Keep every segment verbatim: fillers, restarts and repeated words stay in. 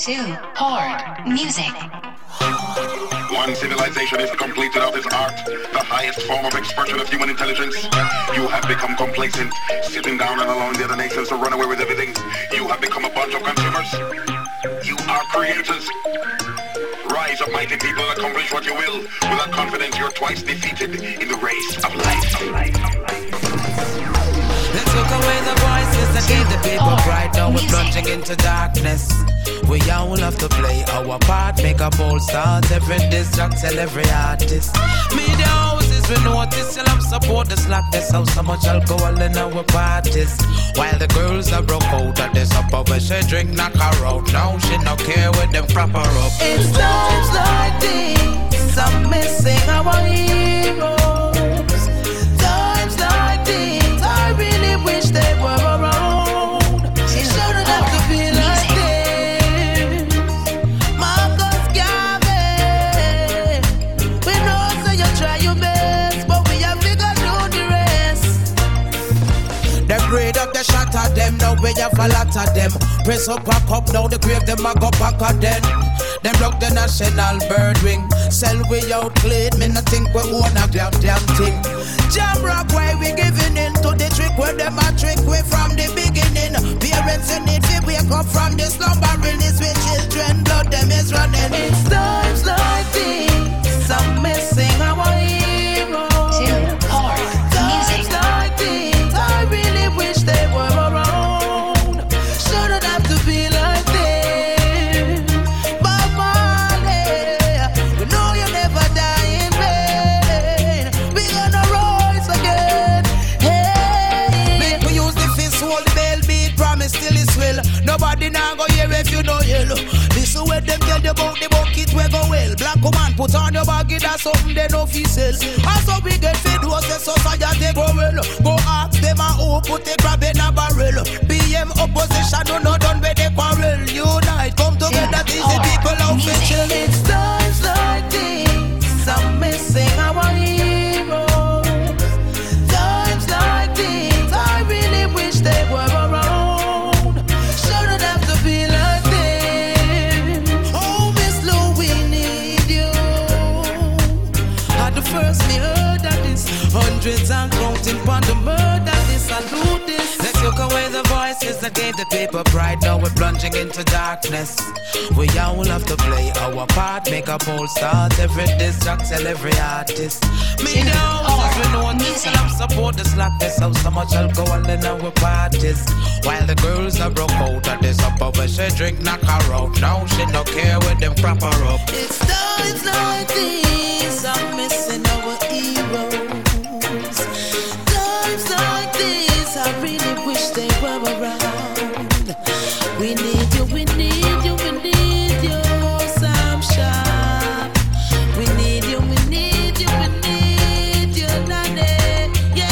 to Horde Music. One civilization is completed of this art, the highest form of expression of human intelligence. You have become complacent, sitting down and allowing the other nations to run away with everything. You have become a bunch of consumers. You are creators. Rise up, mighty people, accomplish what you will. Without confidence, you're twice defeated in the race of life. Of life, of life. Let's look away the voices that gave the people pride. Now we're plunging into darkness. We all have to play our part, make a bold start. Every distract, tell every artist. Media houses, we notice, you'll have support the slackness. How so much alcohol in our parties. While the girls are broke out of this upper where she drink, knock her out. Now she no care with them crap her up. It's times like these, I'm missing our heroes. Times like these, I really wish they were around. It shouldn't have to be like this. Marcus Garvey, we know so you try your best, but we have figured out the rest. They braid up the shot at them, now we have a lot of them. Press up, pack up, now the grave them a go back again. Them block the national bird wing. Sell we out clean, me not think we own a damn damn thing. Jam rock, why we giving in to the trick where them a trick we from the beginning. Parents in need to wake up from the slumbering is with children, blood them is running. It's times like these, I'm missing our heroes. To Horde Times Music. like these, I really wish they were around. Shouldn't have to be like this. Bob Marley, we know you never die in vain. We gonna rise again. Hey, Make we use the fist, hold the bell beat, promise till it's will. Nobody now go hear if you know yellow. This is what them tell you about the bucket we go well. Black woman put on your baggy, that's something they know fi sell. And so we get fed was the society go well. Go ask them a who put the crab in a barrel. B M opposition do not done with the quarrel. Unite, come together, these the people out for chill. it's times like these, I'm missing our heroes. Times like these, I really wish they were around. Shouldn't have to be like this. Oh, Miss Lou, we need you. At the first me heard of this, hundreds and counting upon the murder. This salute this. Let's look away the voices that gave the people pride. Now we're plunging into darkness. We all have to play our part, make a bold start. Every distract, tell every artist. Me down, as we know this, and I'm support the slackness. How so much alcohol in our parties. While the girls are broke out of this upper where she drink, knock her out. Now she no care with them crap her up. It's times like these, I'm missing our heroes. Times like these, I really wish they were around. We need you, we need you, we need you, Sam Sharp. We need you, we need you, we need you, Nane.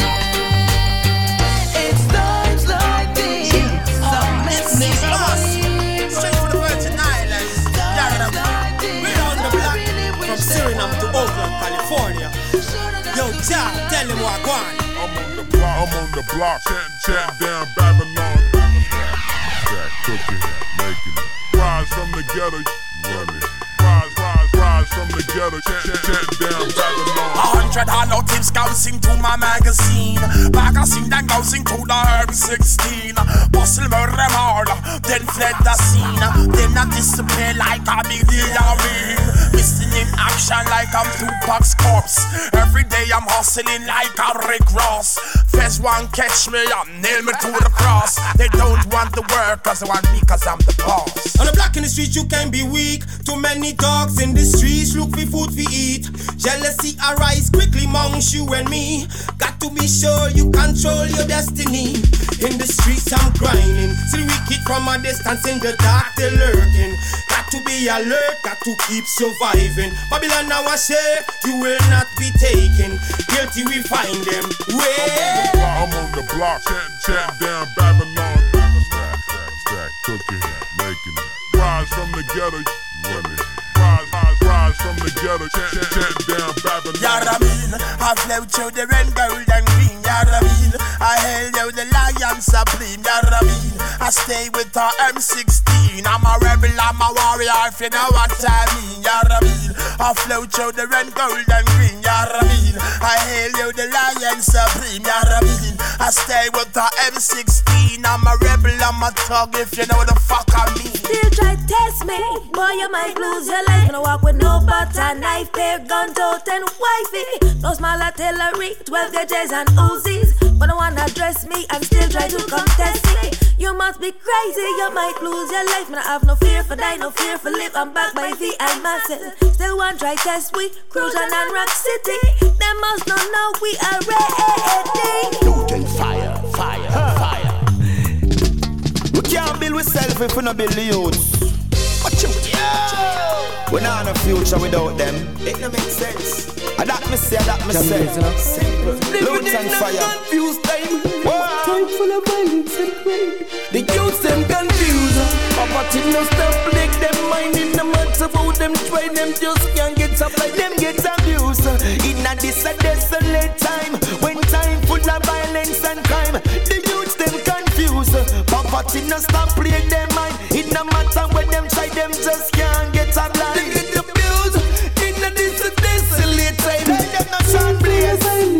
Yeah, it's times like these, I'm missing our heroes. Straight to the Virgin Islands. Times like these, We're on the I block really wish from they Suriname to were Oakland, California. Yo, Ja, tell him what I want. I'm on the block, I'm on the block, chatting, chatting down Babylon. Jack cooking, making it. Rise from the ghetto, running. Rise, rise, rise from the ghetto, chatting, chatting down Babylon. A hundred hollow tips gousing to my magazine. Magazine then gousing to the M sixteen. Bustle murder hard, then fled the scene. Then I disappear like a million. Missing in action like I'm Tupac's corpse. Every day I'm hustling like I'm Rick Ross. First one catch me up, nail me to the cross. They don't want the work cause they want me cause I'm the boss. On the block in the street you can be weak. Too many dogs in the streets look for food to eat. Jealousy arise quickly amongst you and me. Got to be sure you control your destiny. In the streets I'm grinding. See the wicked from a distance, in the dark they're lurking. Got to be alert, got to keep surviving. Babylon now I say you will not be taken. Guilty we find them. Where? I'm on the block, chatting, chatting down Babylon. Stack, stack, stack, cooking, making it. Rise from the ghetto, running. Rise, rise, rise from the ghetto, chatting, chatting down Babylon. Yeah, I mean, I flow through the red, gold and green. Yarabin. I hail you, the lion supreme, Yarabin. I stay with the M sixteen. I'm a rebel, I'm a warrior, if you know what I mean, Yarabin. I flow through the red, gold, and green, Yarabin. I hail you, the lion supreme, Yarabin. I stay with the M sixteen. I'm a rebel, I'm a thug, if you know what the fuck I mean. Still try to test me, boy, you might lose your life. Gonna walk with no butter, knife, pair, gun, tote, and wifey. No small artillery, twelve gauges and Uzis. But no one address me and still try to contest me. You must be crazy, you might lose your life. Man, I have no fear for die, no fear for live. I'm back by V I muscle. Still one try test we, Cruisin' and Rock City. They must not know we are ready. Newton fire, fire, huh. fire. We can't build ourselves if we not build the youths. Watch out. We not have a future without them. It don't make sense. I that me say, I that me say. Simple. Loot and fire. Confused time. Time full of violence and crime. The youths them confused. Poverty no stop, make them mind in the matter about them try. Them just can't get up like them get abused. In a this a desolate time, when time full of violence and crime, the youths them confused. Poverty no stop, play them mind. It no matter when them try, them just can't get up like them get abused. In a this a desolate time, them no shine blaze.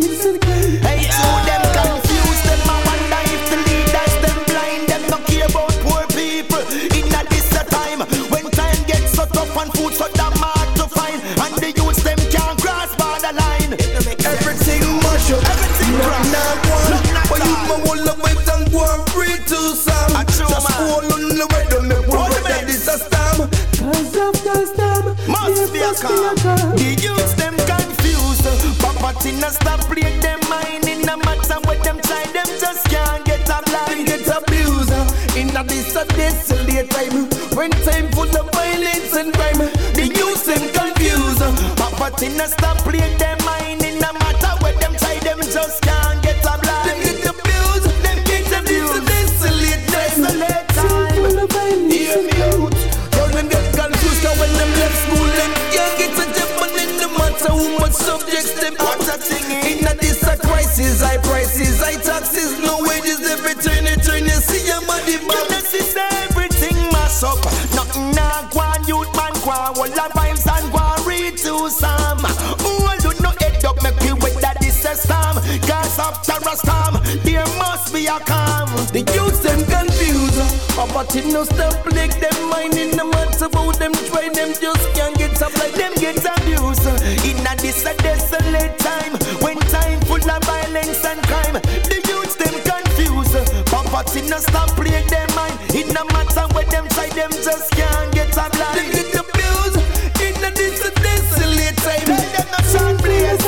Hey, so them confused. Them a wonder if the leaders them blind. Them no care about poor people. In a this a time, when time gets so tough and food so damn hard to find, and the youths them can't cross borderline. Everything mush up, everything crack. But you my whole of my tongue go and free to some. Just fall on the way to make one that is a storm. Cause of the storm, must be a calm. The youths them confused. Poverty no stop play them mind. In no matter what them try, them just can't get a blind. Get abused. In a this a desolate time, when time full of violence and crime, the youths them confused. Poverty no stop play them mind. In no matter what them try, them just can't get a blind. Them get abused. Them get abused. Desolate time. Desolate time. Hear me out. Don't them get confused. Cause when them left school, them can't get a job. And in no matter how much subjects them put a thing in. In a this a crisis, high prices, high taxes, no wages, every turn you turn you see your money back. This is everything mass up. Nothing nah go on, youth man go on. All the vibes and go on, read to some. Oh, you know head up, make you wait that this a storm. Cause after a storm, there must be a calm. The youths them confused. Poverty no stop, like them mind in the matter about them try. Them just can't get up like them get abused. In a this a desolate time, when time full of violence and crime, the youths them confused. Poverty no stop, play them mind. It no matter what them try, them just can't get a blind. Them get abused. In a this a desolate time, them no shine blaze.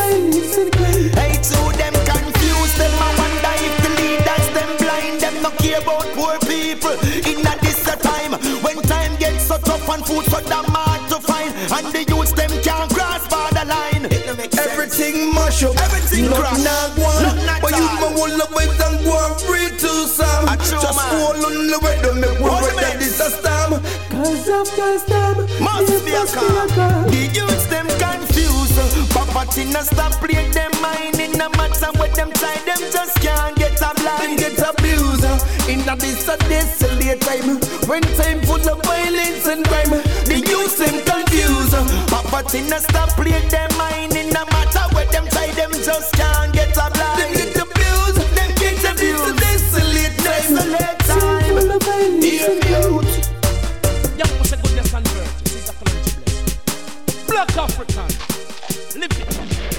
Hey, to them confused. Them a wonder if the leaders them blind. Them no care about poor people. In a this a time, when time gets so tough and food so damn hard to find, and the youths them can't cross borderline. Everything mush up, everything crack. Not one, but you my whole of my tongue go and free to some. Just fall on the way to make one way that is a storm. Cause of the storm, must be a calm. The youths them confused. Poverty no stop play them mind. In no matter what them try, them just can't get a blind. Get abused. In a this a desolate time, when time full of violence and crime, the youths them confused. Poverty no stop play them mind. In no matter what them try, them just can't get a blind. Them get abused. Them get abused. Desolate time. Desolate time. Hear me out. Yeah, what's a goodness and virtue? This is a blessed. Black African. Live it.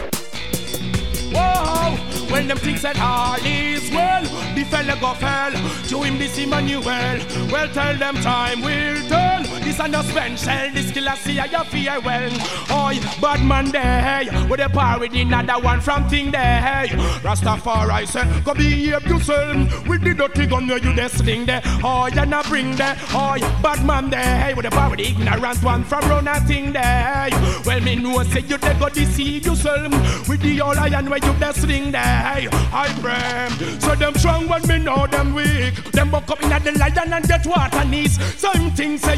Whoa, when them things said all is well, the fella go fell. To him this Emmanuel. Well, tell them time will tell. This and no spend shell. This killer see I fear well. Oi, bad man there. With a power with another one from thing there. Rastafari said, go behave yourself. With the dirty gun where you just sling there. Oi, and I bring there. Oi, bad man there. With a power with the ignorant one from run a thing there. Well, me know say you they go deceive yourself. With the all iron where you just sling there. I pray. So them strong when me know them weak. Them buck up in the lion and get water knees. Some things say a Babylon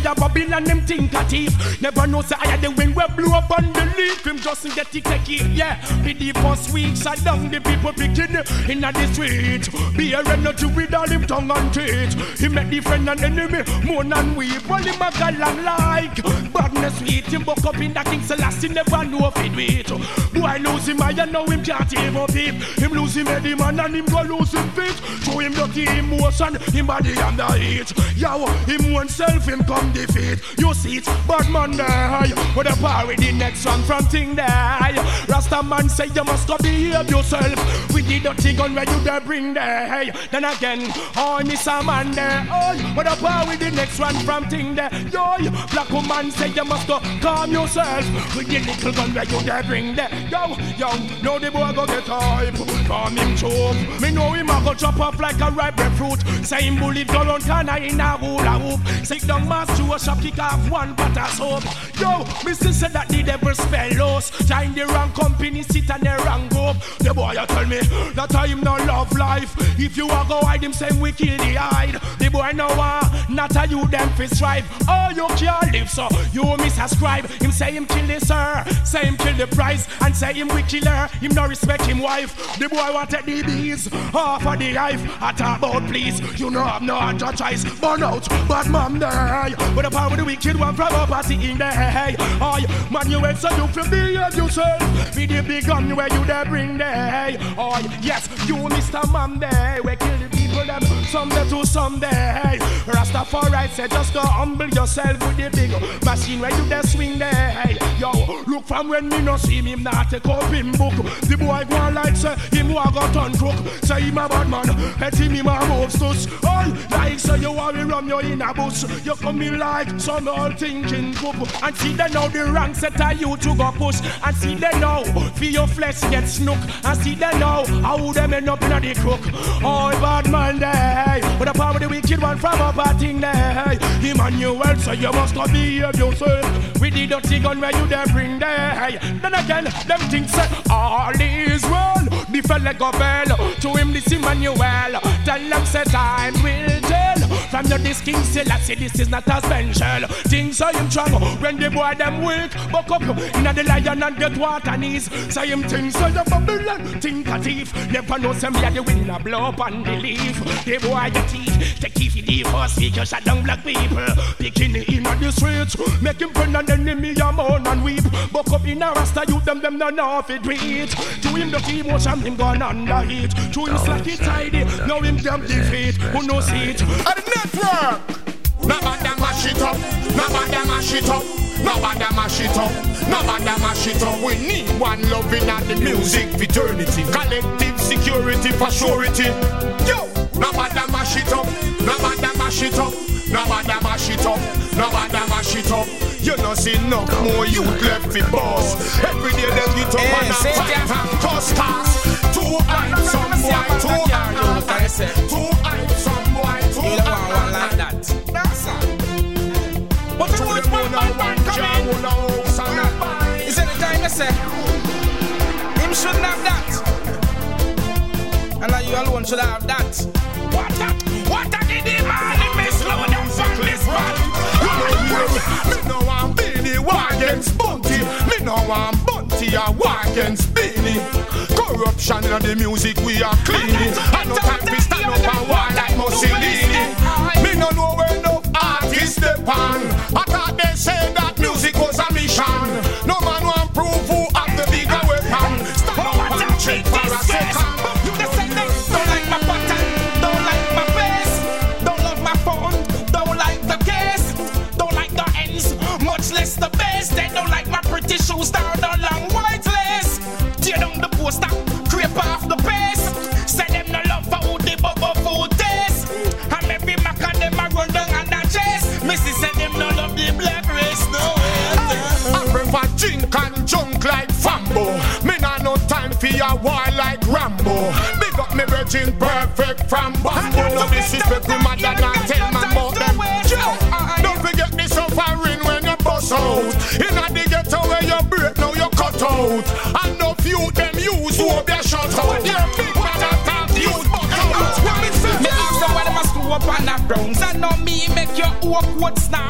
kill and them think a thief. Never know say I had the wind where blew up on the leaf. Him just get it take it, yeah. Be the first week, shut down the people picking in the street. Be a energy with all him tongue and teeth. He make the friend and enemy moan and weep. While him a gal and like badness sweet. Him buck up in the King Selassie, never know if it wait. Boy lose him, I know him can't even up him. Him lose him Eddie man and him go lose him feet. Show him dirty emotion, him body under heat. Yo, him oneself, him come defeat. You see it, bad man die. With a power with the next one from thing die. Rasta man say you must go behave yourself. We did dirty gun where you there bring there. Then again, oh, miss a man there. Oh, with a power with the next one from thing there. Yo, black woman say you must go calm yourself. With the little gun where you there bring there. Yo, yo, know the boy go get hype. Calm him choke. Me know him a go chop up like a ripe fruit. Say him bullet go round corner in a hula hoop. Sit down mass to a shop, kick off one pot of soap. Yo, me still say that the devil spell lost. Join the wrong company, sit on the wrong group. The boy you tell me that time no love life. If you a go hide him, say we kill the hide. The boy know uh, not a you them fi strive. Oh, you can't live so you misascribe. Him say him kill the sir, say him kill the price, and say him we kill her. Him no respect him wife. The boy want take the bees half of the life. I talk about please, you know have no other choice. Burn out, bad mom die. With the power of the wicked one from a party in the hay. Oh, man you went so you feel behave yourself. Be the big gun where you there bring the hay. Oh, yes, you Mister Mom there. We kill the people them someday to someday. Rastafari said just go humble yourself with the big machine where you there swing there. Yo, look from when me no see him not take up him book. The boy go on like say him who a got on crook. Say him a bad man, let him him a move stuss. Oh, like say you worry run you in a bush. You come in like some old thinking group. And see they know the rank set a you to go push. And see they know feel your flesh get snook. And see they know how them end up in a the crook. Oh, bad man there. But the power of the wicked one from a bad thing there. Emmanuel, so you must not behave yourself. With the dirty gun where you there bring there. Then again, them things say all is well. The fella go bell. To him this Emmanuel. Tell them say time will tell. From your this King Selassie, this is not a special. Things are him strong when the boy them weak. Buck up in the lion and get water knees. Say him things so you Babylon. Think a thief. Never know some me the winner blow up on the leaf. The boy you teeth. Take if you the first speaker shut down black people. Picking it in on the streets. Make him burn an enemy a moan and weep. Buck up in a rasta youth them them no know if it reach. To him the team emotion him gone under heat. To him slack it tidy. Now him damn defeat. Who knows it? At the network. Nobody mash it up. Nobody mash it up. Nobody mash it up. Nobody mash it up. We need one loving at the music fraternity. Collective security for surety. Yo, nobody mash it up. Nobody mash it up. Nobody mash it up. Nobody mash it up. You know see no more youth left for boss. Every day they get up and fight and cuss cars. Two eyes some boy, two eyes, two eyes some boy, two eyes. You don't want one like that. That's all. But you would want one come in. Is any time I say him shouldn't have that, and now you alone should have that. What that? What that did the man? He may slow down from this one. Me no want Beanie war against Bunty. Me no want Bunty a war against Beanie. Corruption in the music we are cleaning. I no time to stand up and war like Mussolini. Me no know where no artists depend. I thought they said that music was a mission. No man want prove who have the bigger weapon. Stand up and check for a second. You the say they don't like my button, don't like my face, don't love my phone, don't like the case, don't like the ends, much less the base. They don't like my pretty shoes down the long white lace. Tear down the poster, creep off the pace. Say them no love for who the bubble food taste. And maybe Mac and them a run down and a chase. Missy said them no love the black race, no way. I prefer drink and junk like Fambo. Me nah no time for your war like Rambo. Big up me virgin perfect from Bambo. No disrespect me mother and tell man about them. Don't forget the suffering when you bust out. Inna the ghetto where you break, now you cut out. And no few them use who be a shut out. They're big man and can't use buck out. Me ask them why them a screw up on the browns. And now me make your awkward snare. Me say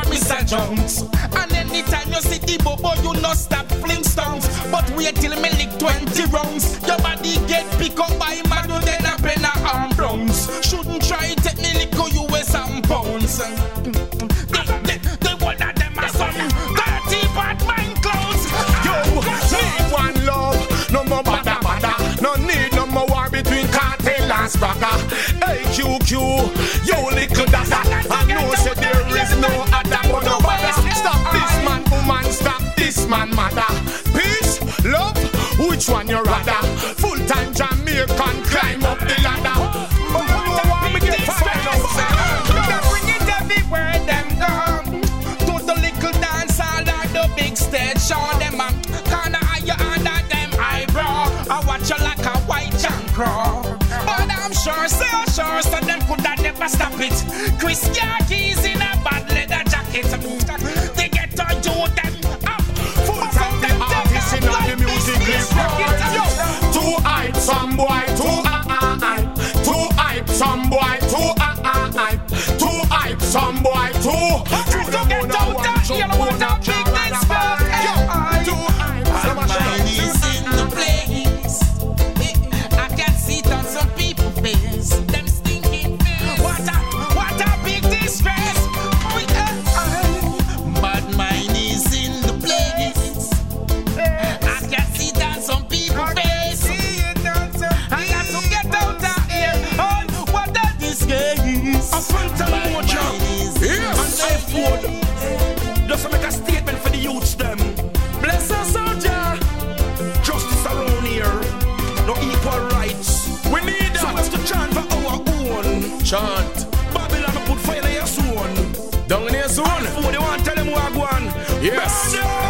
junks. And anytime you see the bobo, you no stop fling stones. But wait till me lick twenty rounds. Your body get pick up by man, you then a pen a arm browns. Shouldn't try take me lick go you weigh some pounds. The, the, the one of them are some dirty bad mind clothes. Yo, need one love, no more bada bada. No need no more war between cartel and spraga. Hey Q Q, you little dada. I know say there is no other but no bother. Stop this man, woman, stop this man, mother. Peace, love, which one you rather? Full time Jamaican, climb up the ladder. Oh, oh, want me get find out. They bring it everywhere them go. To the little dance hall or the big stage show. Them a corner higher under them eyebrow. I watch you like a white junk crow. But I'm sure, so sure, so them coulda never stop it. Chris Yarkeys in a bad leather jacket. They get to do them up. Full time the artists in all the music is right. Too hype, some boy, too ah hype. Too hype, some boy, too ah hype. Too hype, some boy, too. To the moon, I want you want to big this fuck. Too hype, some mine is in the place. I can see it on some people's face. Them stinking face. What a, what a big distress. But mine is in the place. I can see it on some people's face. I got to get out of here. Oh, what a disgrace. a phantom mojo. Yes. And I afford just to make a statement for the youths them. Bless us, soldier. Justice around here. No equal rights. We need that. So we have to chant for our own. Chant. Babylon put fire in your zone. Down in your zone. Oh, they want to tell them who are going. Yes.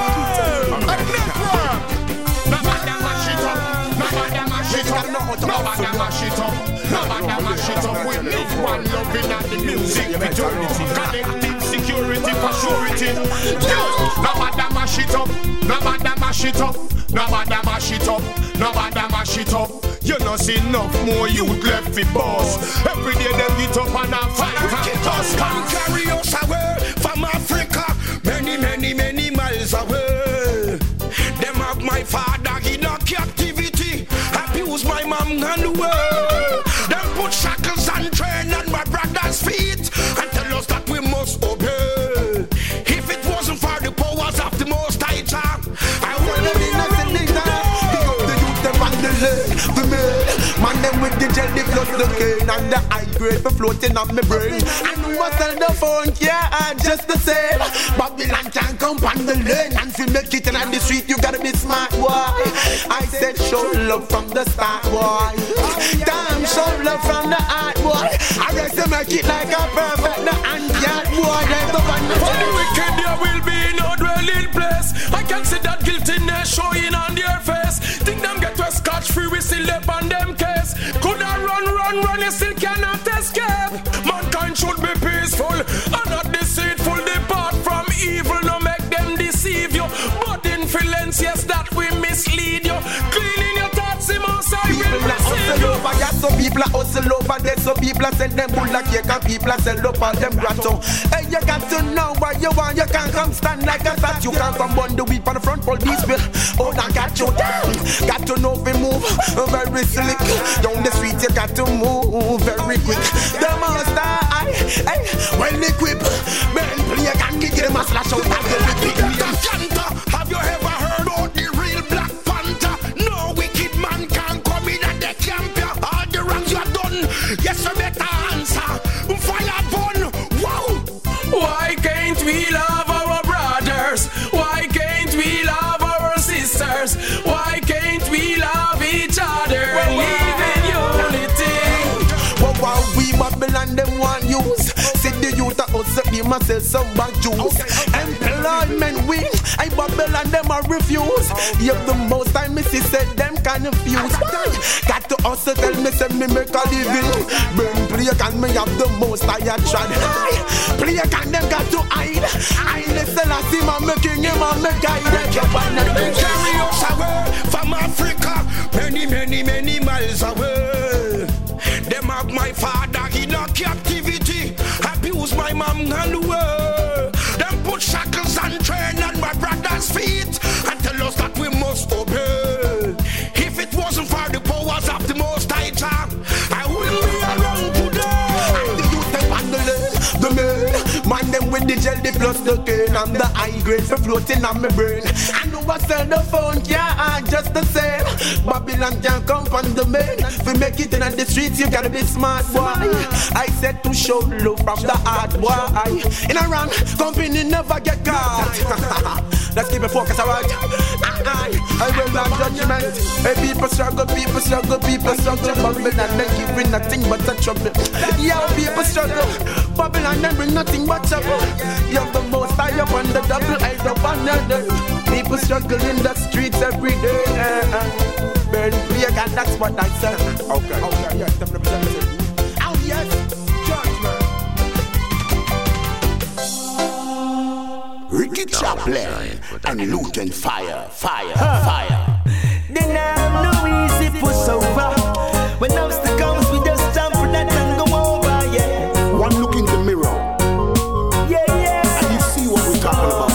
Nobody mash it up. Nobody mash it up. Nobody mash it up. Nobody mash it up. We need one loving at the music. Eternity. Collective security for surety. Nobody mash it up. Nobody mash it up. Nobody mash it up. Nobody mash it up. You know see enough more youth left for boss. Every day they get up and a fight and us can carry us away from Africa, many, many, many miles away. Them have my father in a captivity, abuse my mom and the world. Them put shackles and train on my brother's feet and tell us that we must obey. If it wasn't for the powers of the Most High Jah, I wouldn't be nothing down. The man, man them with the jelly plus the cane and the high grade for floating on my brain. And we must sell the phone, yeah, just the same. Babylon can't come on the lane. And if you make it in the street, you gotta be smart, boy. I said show love from the start, boy. Damn, show love from the heart, boy. I guess to make it like a perfect the hand yard, boy. There's the one for the wicked, there will be no dwelling place. I can see that guiltiness showing on their face. Think them get to scotch free, we still up on them case. Could I run, run, run, you still cannot escape. Mankind should be peaceful and not deceitful. Depart from evil, no make them deceive you. But influence, yes, that we mislead you. Cleaning your thoughts, most I will receive you. So people are hustle over there, so people are sell them bull like cake and people are sell up all them grotto. Hey, you got to know what you want, you can't come stand like a statue. You can't come burn the weed on the front, police will. Oh, I got you down. Got to know if we move very slick. Down the street, you got to move very quick. The monster, I, hey, well equipped. Man, play a can kick them a slash out of the big. Have you ever heard of the real Black Panther? No wicked man can come in at the camp. All the wrongs you have done, yes, you better answer. Fire burn, wow. Why can't we love our brothers? Why can't we love our sisters? Why can't we love each other and live in unity? Well, while we Babylon them want use, see the youth of us be myself some bad juice. Employment win, I Babylon them a refuse. You have the most time me see said them confused. Got to hustle tell me say me make a living. Burn play can me have the most I had tried. Play can them got to hide. I listen I see my making him and me guide. They carry us away from Africa, many many many miles away. Them have my father in a captivity, abuse my mom and the world. Them put from the high grades for floating on my brain. I know I sell the phone, yeah, just the same. Babylon can't come from the main. If you make it in the streets, you gotta be smart, boy. I said to show love from the heart, boy. In a run, company never get caught. Let's keep it focused, alright? I will not judgment. Hey, people struggle, people struggle, people struggle. Babylon, they give nothing but a trouble. Yeah, people struggle. Babylon, they bring nothing but trouble. You're the most high up on the double, I don't want another. People struggle in the streets every day. Uh, uh. Burn prayer, and that's what I said. Okay, okay, yes, them representatives. Oh, yes, judgment. Ricky Chaplin and Luton Fire, fire, huh. fire. Then I'm no easy push over. When obstacle comes, we just jump for that and go over, yeah. One look in the mirror. Yeah, yeah. And you see what we're talking about.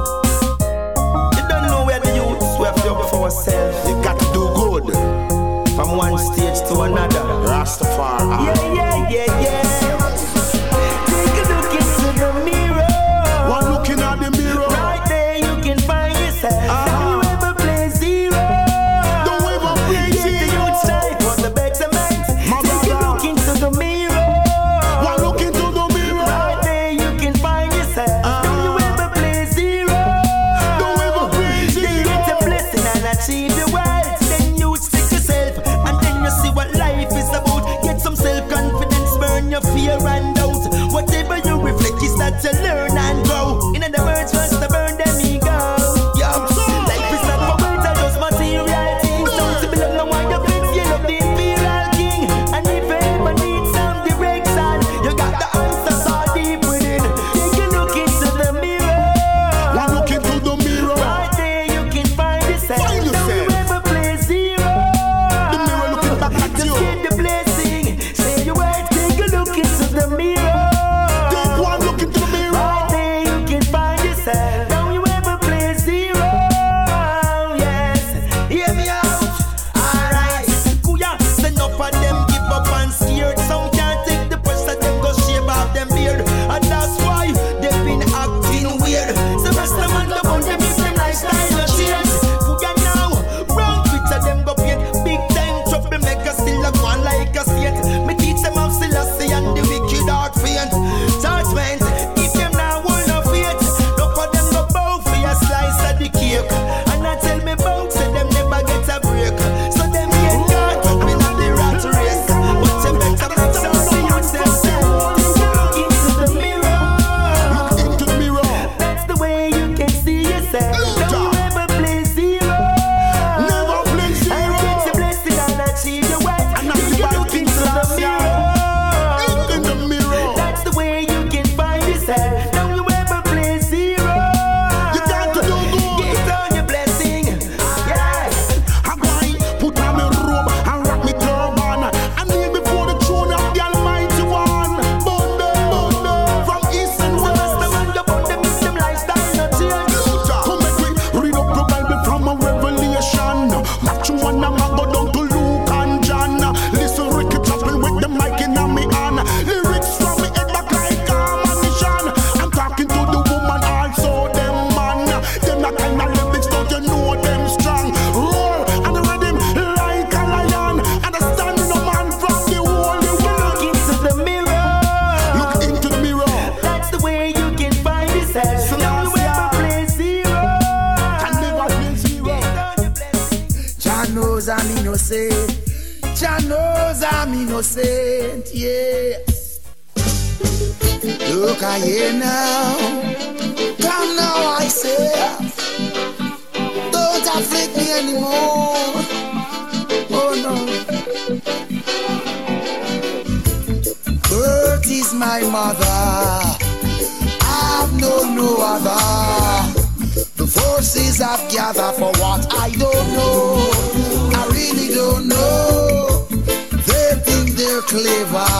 You don't know where the youths we have to do for ourselves. You got to do good. From one stage to another. Rastafari. Yeah, yeah, yeah, yeah. Take a look into the mirror. One looking at the mirror. Right there you can find yourself. Uh-huh. Don't you ever play zero. Don't ever play Get zero. the youth side for the betterment. My Take brother. a look into the mirror. One look into the mirror. Right there you can find yourself. Uh-huh. Don't you ever play zero. Don't ever play zero. Then get a blessing and achieve your wealth. Then you stick yourself and then you see what life is about. Get some self-confidence, burn your fear and doubt. Whatever you reflect is that you learn and grow. In other words, first to burn them ego. Yeah, life is not for words, I just material things. Don't you belong no one your friends, you love the imperial king. And if you ever need some direction, you got the answers all deep within. Take a look into the mirror. One look into the mirror. Right there you can find yourself. Find yourself. Don't you ever play zero. The mirror looking back at Just you. get the blessing. Say your word, take a look into the mirror. Take one look into the mirror. Right there you can find yourself. Don't you ever play zero. Yes, hear me out. Alright, Kuya, send up and them give up and scared. Some can't take the pressure, them go shave off them beard. And that's why they've been acting weird. So rest them on the bone, them if them lifestyle no change. Kuya now, wrong picture them go paint. Big time trouble make us still a go on like a saint. Me teach them how still a say and the wicked heart faint. Judgment, if them now will no faith. Look for them go bow for a slice of the cake. And I tell me bout say them never get a break. So them get caught up in the rat race. But you better make some see yourself. Look into the mirror. Look into the mirror. That's the way you can see yourself. Don't you ever play zero. Never play zero. And get your blessing and achieve your wealth. And not Take the a right look things into to the us, mirror. In the mirror. That's the way you can find yourself. Don't you ever play zero. You got to do good. Get on your blessing. Yes. I'm going put on my robe and rock me turban. I kneel before the throne of the Almighty One. Bunda, bunda, from east and So west. rest them on the bone, them if them lifestyle no change. Come make me read up the Bible from a Revelation. Match one and I go down to Luke and John. Listen, Ricky Chaplin with the mic in me hand. Lyrics from me head back like ammunition. I'm talking to the woman also, them man. Them that kind of lyrics, don't you know them strong? Roar and the rhythm like a lion. Understanding a man from the holy Look one. into the mirror. Look into the mirror. That's the way you can find yourself. So Don't you now, ever play zero. Can never play zero. Get on your blessing. Jah knows I'm innocent. Jah knows I'm innocent. Yes. Look at you now. Come now, I say. Don't afflict me anymore. Oh no. Earth is my mother. I've known no other. The forces I've gathered for what I don't know. I really don't know. They think they're clever,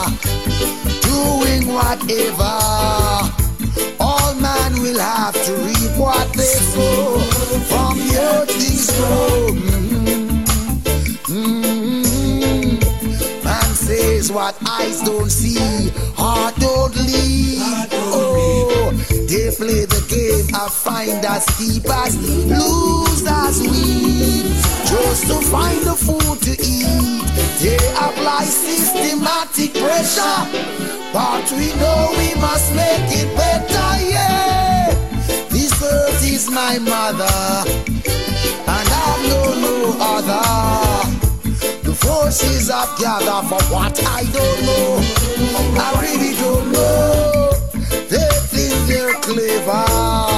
doing whatever. All man will have to reap what they sow. From the earth things grow. Mm-hmm. Mm-hmm. Man says what eyes don't see, heart don't lead. Oh, they play the game game of finders, keepers, losers we just to find the food to eat. They apply systematic pressure, but we know we must make it better, yeah. This earth is my mother, and I've known no other. The forces have gathered for what I don't know. I really don't know. They think they're clever,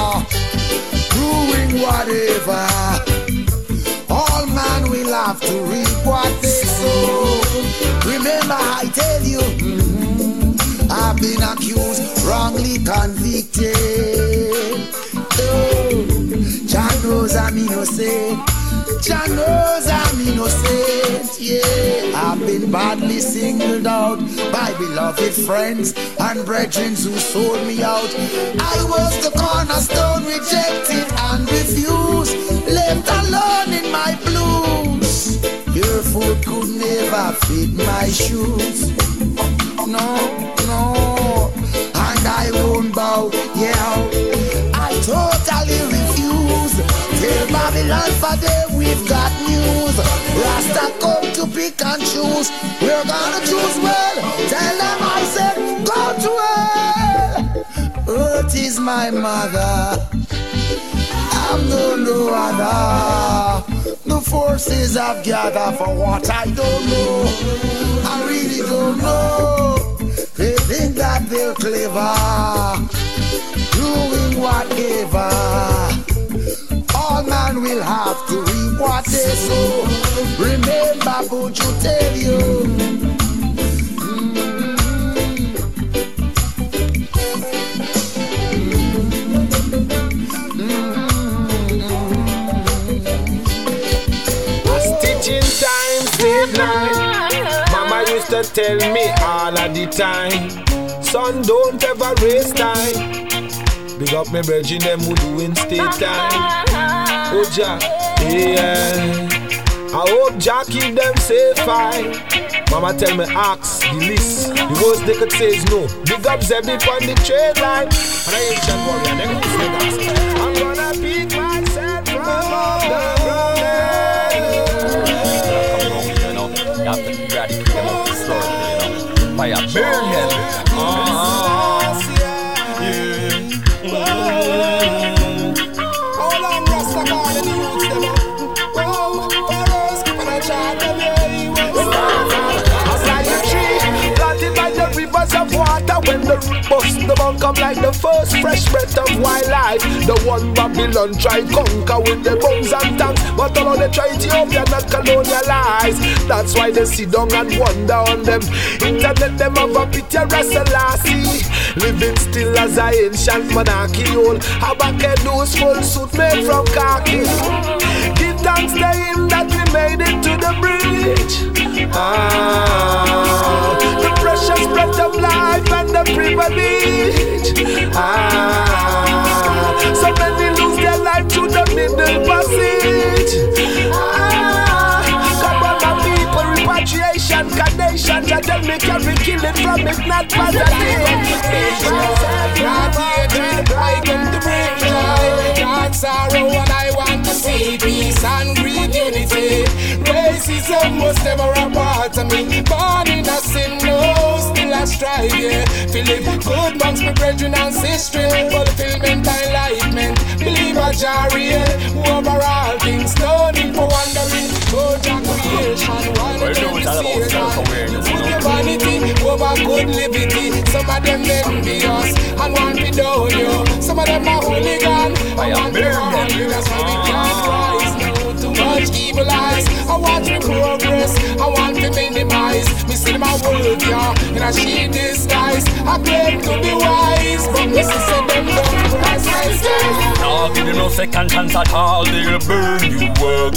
doing whatever. All man will have to reap what they sow. Remember I tell you, mm-hmm, I've been accused, wrongly convicted. Oh, Jah knows I'm innocent. Jah knows I'm innocent, yeah. I've been badly singled out by beloved friends and brethren who sold me out. I was the cornerstone, rejected and refused, left alone in my blues. Your food could never fit my shoes. No, no, and I won't bow, yeah. I totally refuse. Tell Babylon for them we've got news. Rasta come to pick and choose. We're gonna choose well. Tell them I said go to hell. Earth is my mother, I'm no no other. The forces have gathered for what I don't know. I really don't know. They think that they're clever, doing whatever. All man will have to reap what they sow. Remember, would you tell you? Mm-hmm. Mm-hmm. A stitching time, save night. Mama used to tell me all of the time, son, don't ever waste time. Big up me brethren, them who doing state time. Oh Jah, yeah. I hope Jah keep them safe, fine. Mama tell me ask the list. The worst they could say is no. Big up Zebby on the trade line. And I ain't John Warrior, them who say that. I'm gonna pick myself from up the road. You know, you have to eradicate them off the store, you know. Fire burn hell. Uh-huh. All I'm Rasta calling the youths them up. Whoa, Pharaohs keep on a chart them, yeah. As I a tree planted by the rivers of water, when the root bust, the bunk come like the first fresh breath of wildlife. The one Babylon tried conquer with the bones and tanks, but all they try Ethiopia not colonialize. That's why they sit down and wonder on them. Internet them have a picture of Selassie, living still as a ancient monarchy. Old Habakkuk full suit made from khaki. Give thanks to him that we made it to the bridge. Ah, the precious breath of life and the privilege. Ah, so many lose their life to the middle passage. Ah, come on my people, repatriation, carnation, that them make every killing from it, not positive. Not hatred, I come to bring joy, not sorrow, and I want to see peace and great unity. Racism was never a part of me. Born in a sin, no, still I strive, yeah. Feeling good amongst my brethren and sisters. Fulfillment, enlightenment, believe a jar real. Over all things, no need for wondering. Go to creation, one of them is here. Put your vanity over good liberty. Some of them envious and want to down you. Some of them are hooligan and want to harm you. That's why we can't rise now. Too much evil eyes. I want to progress. I want to minimize. Me see my world, yeah, in a shade disguise. I claim to be wise, but me see them don't rise my stairs. Now give you no second chance at all. They'll burn you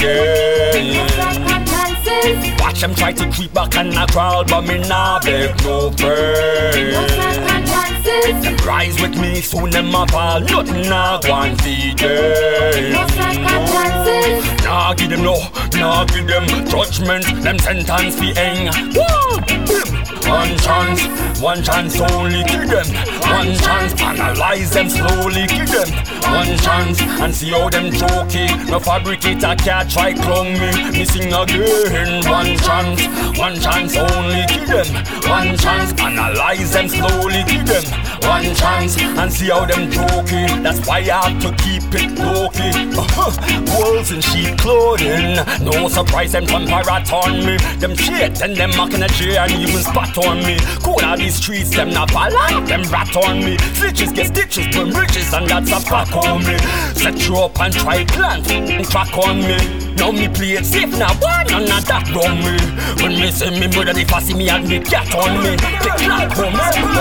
again. Watch them try to creep back and I crawl, but me nah beg no friend. Them rise with me, soon them a fall. Nothing nah go and feed them. Nah give them know, nah give them judgment, them sentence fi hang. One chance, one chance only, give them. One chance, analyze them slowly, give them. One chance, and see how them jokey. No fabricator can't try clone me, missing again. One chance, one chance only, give them. One chance, analyze them slowly, give them. One chance, and see how them jokey. That's why I have to keep it low-key. Uh-huh. Wolves in sheep clothing, no surprise them rat on me. Them shit and them mocking a chair and even spot on me. Cool out these streets, them not follow, them rat on me. Stitches get stitches, burn riches, and that's a back on me. Set you up and try plant and crack on me. Now me play it safe now, why none of that wrong me? When me say me brother, if I see me and me cat on me, they clap on me.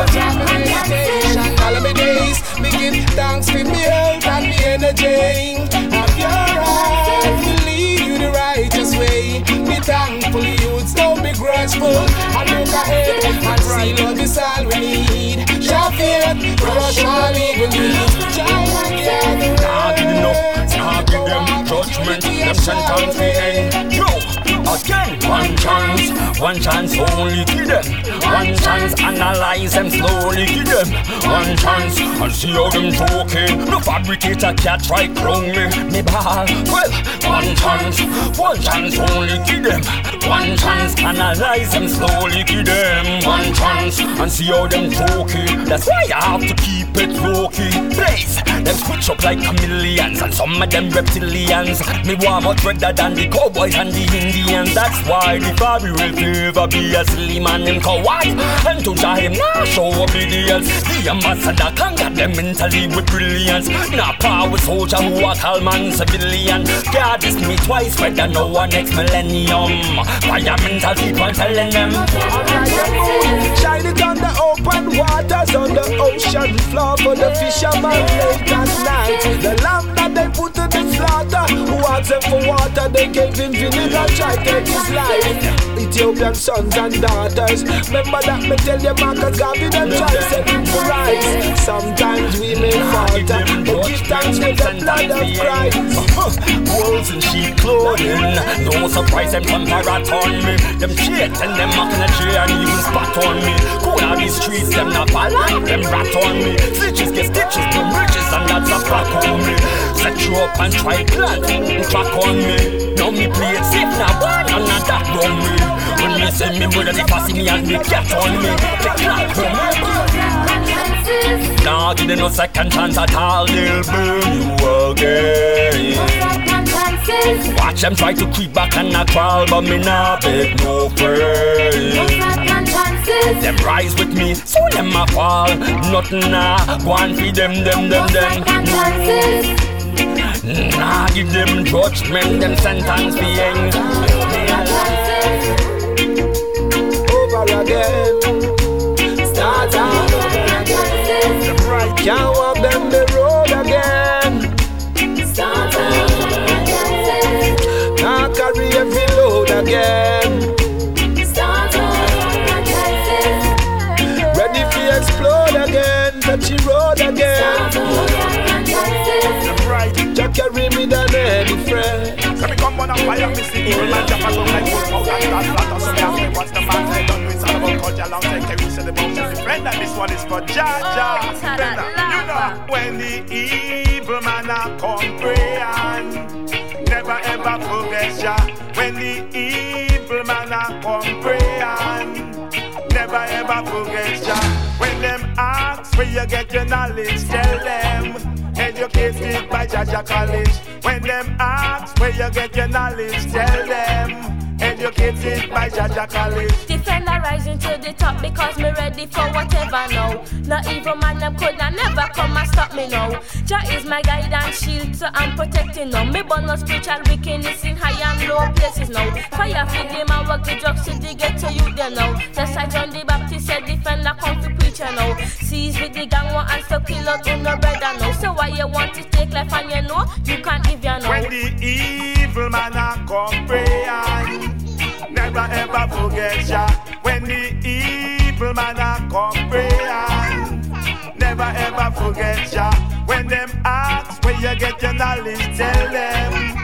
All of my days, me give thanks for me health and me energy. Have your eyes to lead you the righteous way. Be thankful, youths, don't be grudgeful. And look ahead and see love is all we need. Show faith, crush all evil needs. Nah, give them no, nah, give them judgment. Them sentence fi hang. Yo, again, one chance, one chance only, give them. One chance, analyze them slowly, give them. One chance, and see how them joking. No fabricator can't try clone me, me ball. Well, one chance, one chance only, give them. One chance, analyze them slowly, give them. One chance, and see how them joking. That's why I have to keep it low-key. Please, them switch up like chameleons, and some of them reptilians. Me want much better than the cowboys and the Indians. That's why the Fabi will never be a slim man in Kawhi. And to jar him now show obedience. The ambassador conquer them mentally with brilliance. Now power soldier who are calm and civilian. God this me twice whether no one next millennium. Why am mental people telling them? Shine it on the open waters, on the ocean floor for the fisherman late at night. The lamb that they put to the slaughter, who asked them for water, they gave him vinegar, try to take his life. Ethiopian sons and daughters, remember that me tell you Marcus Garvey them try set him to rise. Sometimes we may falter, but give thanks with the blood of Christ. Wolves in sheep clothing, no surprise them come rat on me. Them shit and them mocking a tree and even spot on me. Cool out these streets, them not follow, them rat on me. Stitches get stitches, burn riches, and that's a back on me. Set you up and try plant and crack on me. Now me play it safe now, why none of that wrong me? When me say me brother, if I see me and me cat on me, they clap on me. Nah, give them no second chance at all, they'll burn you again. Watch them try to creep back and I crawl, but me nah beg no friend. Them rise with me, so them a fall. Nothing nah, go and feed them, them, them, them. Nah, give them judgment, them sentence fi hang. Over again, start out. Can't walk them the road again. Start out. Can't carry every load again. Start out. Ready to explode again, touch the road again. Just carry me down any friend. Let me come on a fire, me see evil man jump and look like wolf out and start flat. So me ask me what's the man say done with all about culture long take carry to the mountain defend. And this one is for Jaja. You know when the evil man a come pray and never ever forget Jah. When the evil man a come pray and never ever forget Jah. When them ask where you get your knowledge, tell them educated by Jaja College. When them ask where you get your knowledge, tell them educated by Jaja College. Defender rising to the top because me ready for whatever now. No evil man them could not never come and stop me now. Jah is my guide and shield, so I'm protecting now. Me born no spiritual wickedness in high and low places now. Fire feed them and work the drugs to the get to you them now. Just like John the Baptist said, defender come for preacher now. Seize with the gang one and stop kill out in no brother now. So why you want to take life and you know you can't give your now. When the evil man a come pray and never ever forget Jah. When the evil man a come pray and never ever forget Jah. When them ask where you get your knowledge, tell them educated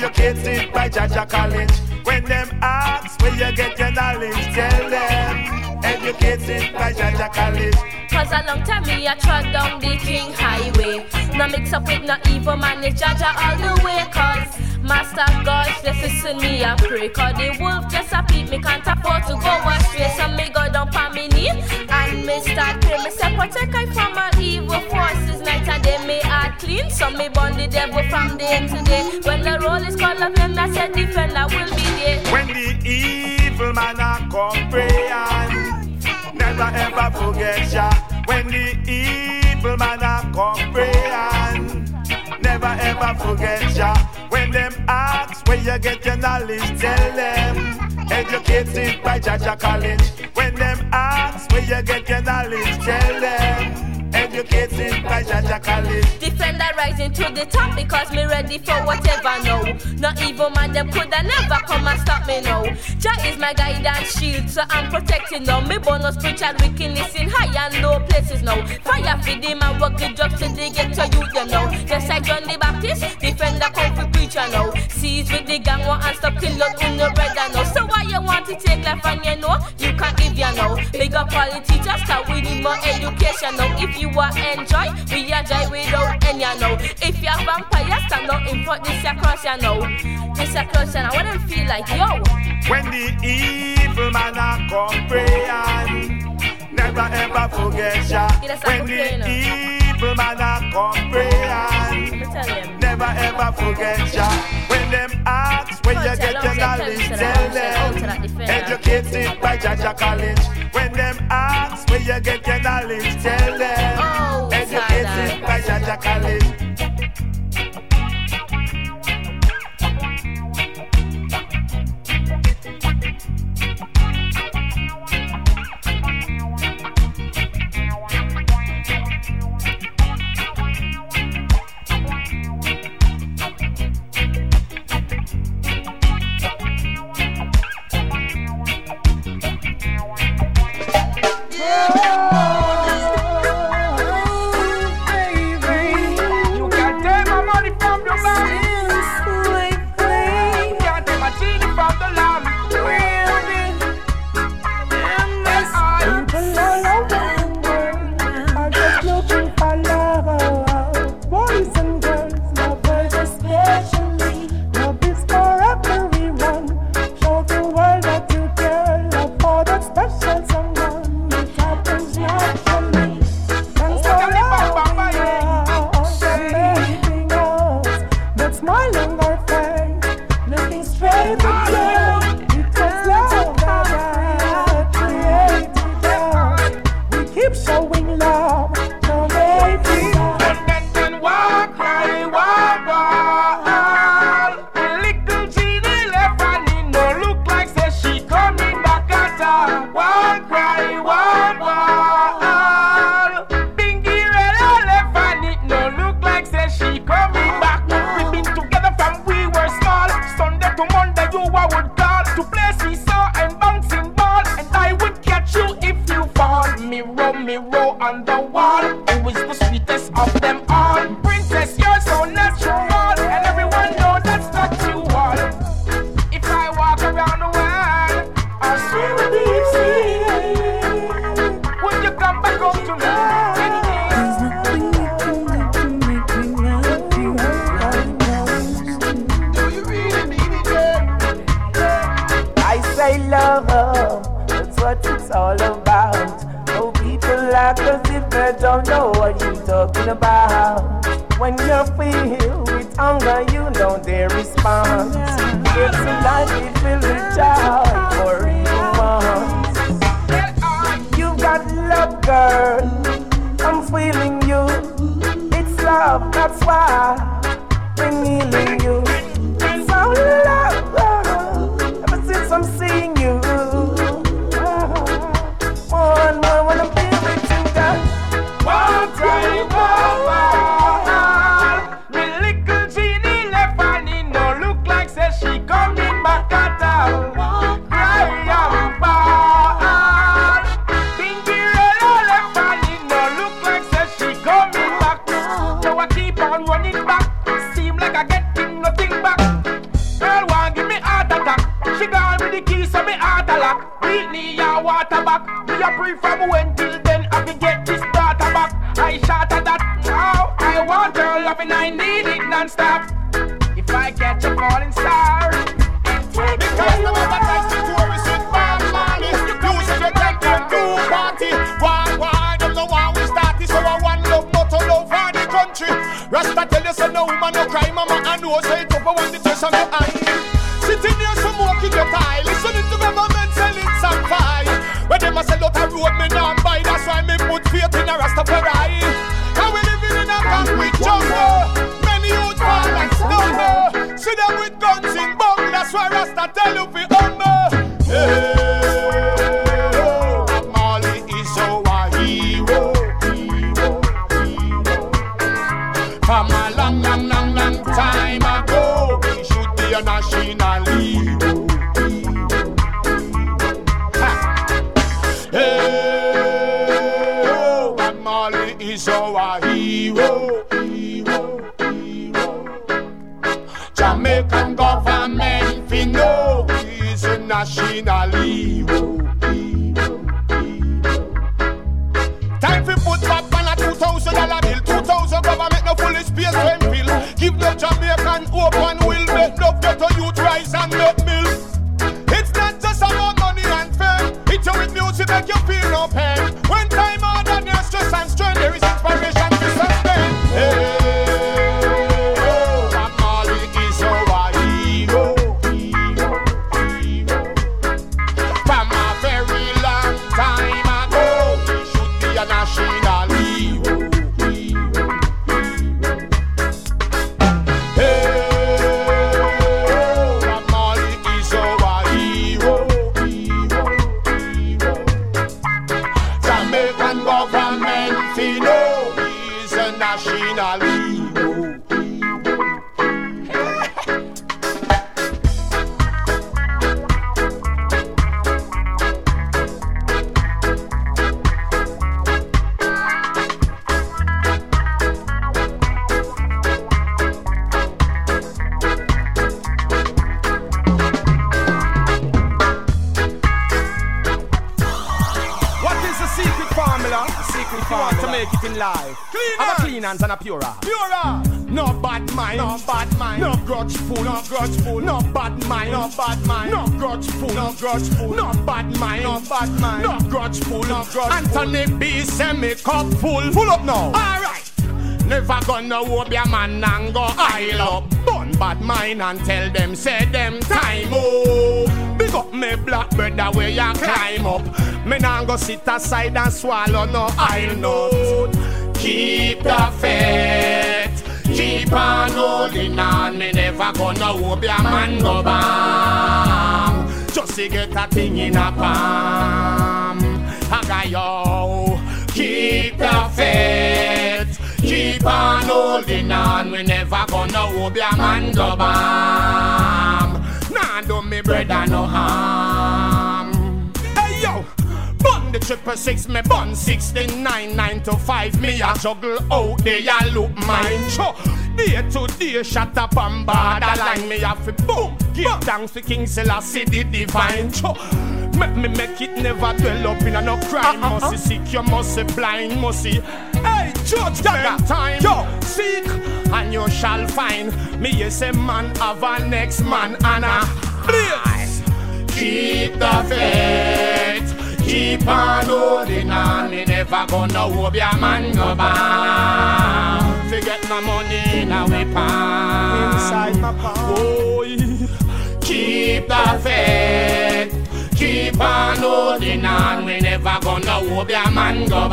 educated by Jaja College. When them ask where you get your knowledge, tell them, educated by Jaja College. Cause a long time me I trod down the King Highway. No mix up with no evil man, it's Jaja all the way. Cause Master God, just listen me I pray. Cause the wolf just a peep, me can't afford to go astray. So me go down on me knee and me start pray. Me say protect I from my evil forces. Night and day me heart clean, so me burn the devil from day to day. When the roll is called of them, I said defender will be there. When the evil man a come pray and never ever forget ya. When the evil man a come pray and never ever forget ya. When them ask where you get your knowledge, tell them, educated by Jaja College. When them ask where you get your knowledge, tell them, educated by Jaja College. Defender rising to the top because me ready for whatever now. No evil man them coulda never come and stop me now. Jah is my guidance shield, so I'm protecting now. Me bonus spiritual wickedness in high and low places now. Fire for them and work the drugs till they get to you them now. Just like John the Baptist, defender come for preacher now. Seize with the gang one and stop kill out in your brother now. So why you want to take life and you know you can't give ya now. Big up all the teachers, cause we need more education now. If you want enjoy, we enjoy without any now. If you're vampire, stand up in front this across ya now. This across ya now, what them feel like, yo? When the evil man a come pray and never ever forget ya. When the evil man a come pray and never ever forget ya. When them ask where you get your knowledge, tell them, educated by Jaja College. When them ask where you get your knowledge, tell them, educated by Jaja College. Keep on running back. beat me a water back. Me a pray from when till then I can get this daughter back. I shot at that now. I want her loving, I need it non-stop. If I catch a falling star, because no matter next to tourists with Bob Marley, you should take them to party. Why, why, them no one we start this, so I want love, not to love for the country. Rasta tell you so no woman no cry, mama I know say it up, I want the test of your eye. Sitting there smoking your tie, listening to government selling some fire. When them a sell out a road, me not buy, that's why me put faith in a Rastafari. And we living in a concrete jungle, many youth fall and stumble. See them with guns in bungle, that's why Rasta tell you fi humble. Hey, oh, Marley is our hero, hero, hero. From a long, long, long, long time ago, he should be a national hero. Hey, oh, Bob Marley is our hero, hero, hero. Jamaican government, we know he's a national hero, hero, hero. Time for put back on a two thousand dollar bill, two thousand government no fully space when fill. Give the Jamaican hope and will make love get a youth rise and make milk. It's not just about money and fame. It's with music make you feel no pain. When time out and there's stress and strain, there is inspiration to sustain. Hey, oh, Bob Marley is our hero, hero, hero. From a very long time ago, he should be a national hero, hero, hero. Hey, oh, Bob Marley is our hero, hero, hero. Jamaican government, we know he's a national hero, hero. what is the secret formula? The secret formula to make it in life. Clean Have a hands. clean hands and a pure heart. Pure. No bad mind, no bad mind, no grudgeful, no grudgeful, no bad mind, no bad mind, no grudgeful, no grudgeful, no bad mind, no bad mind, no grudgeful, no grudgeful. Anthony B. send me cup full, full up now. Alright. Never gonna whoop your man and go aisle up. Bun bad mind and tell them, say them time up. Big up me black brother where you climb up. Me nah go sit aside and swallow no aisle nut. Keep the faith, keep on holding on. Me never gonna whoop your man go bang. Just to get a thing in a palm. I got yo. Keep the faith, keep on holding on. We never gonna whoop your man go bang. Nah do me brother no harm. Hey yo. Bun the triple six, me bun sixty-nine, nine to five. Me a juggle out there, ya look mine. Cho, day to day, shut up and borderline. Me a fi boom, give thanks to King Selassie the divine. Cho, make me make it never dwell up in a no crime. Uh, uh, uh. Must see sick, you must see blind, must see. Hey, judgment time. Yo, seek and you shall find. Me yes a man have a next man and a please. Keep the faith, keep on holding on. Me never gonna whoop your man go bang. Forget no money in a we palm. Inside my palm. Boy, keep the faith, keep on holding on. We never gonna whoop your man go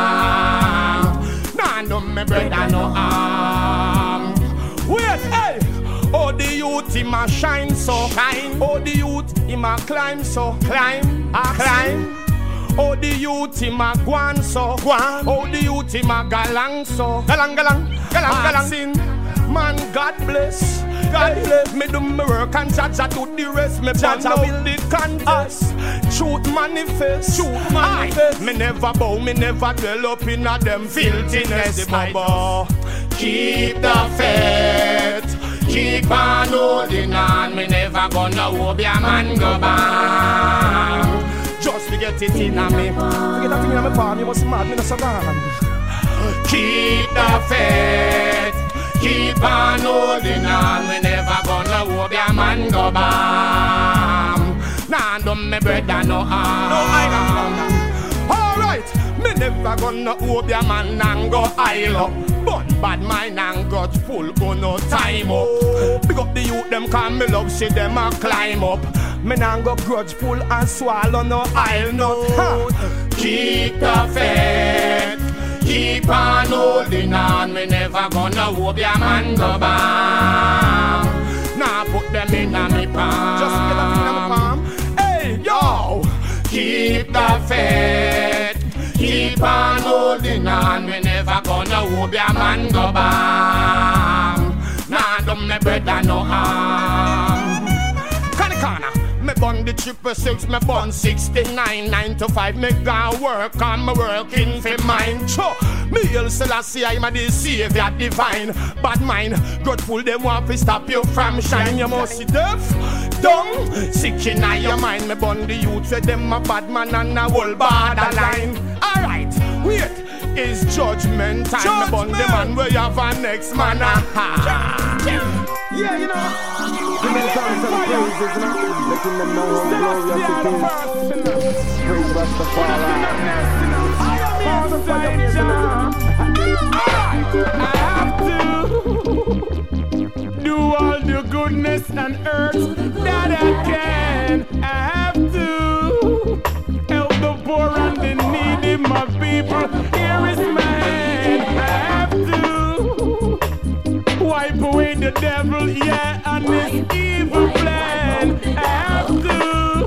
bang. Nah, no me brother no harm. Wait, hey. Oh, the youth, him a shine so shine. Oh, the youth, him a climb so climb, a climb. Oh, the youth, him a guan so guan. Oh, the youth, him a galang so galang, galang, galang, galang. Man, God bless, God bless. Me do me work and Jaja do the rest. Me Jaja will the contest. Truth manifest, truth manifest. Me never bow, me never dwell up in a them filthiness. Baba, keep the faith. Keep on holding on, me never gonna whoop your man go bang. just to get it in on me. Forget that thing in my palm, you must be mad, me no survive. Keep the faith, keep on holding on. We never gonna hope your man go bam. Nah, don't me brother no harm. No, I don't. Alright, me never gonna hope your man and go aisle up. But bad mind and got full, go no time up. Big up the youth, them call me love, see them a climb up. Me nah go grudgeful and swallow no aisle nut. Ha. Keep the faith, keep on holding on. We never gonna hope your man go bam. Nah, put them in a me palm. Just get them in a me palm. Hey, yo, keep the faith, keep on holding on. We never gonna hope your man go bam. Nah, don't me brother no harm. Corner, corner. Me bun the triple six, me bun sixty-nine, nine to five. Me gone work on me working for mine. Cho, me El Selassie, I'm a the savior divine. Bad mind, grateful them want to stop you from shine. You must see deaf, dumb, sick in your mind. Me bun the youth, say them a bad man and a whole borderline. Alright, wait, it's judgment time. Judgment. Me bun the man where you have a next man. Aha. Yeah, you know. Give me some some praises, you know. Letting them know how glorious it is. Praise Rastafari. I have to do all the goodness and earth that I can. I have to help the poor and the needy, my people. Here is my hand. I have to wipe away the devil, yeah, and his evil plan. I have to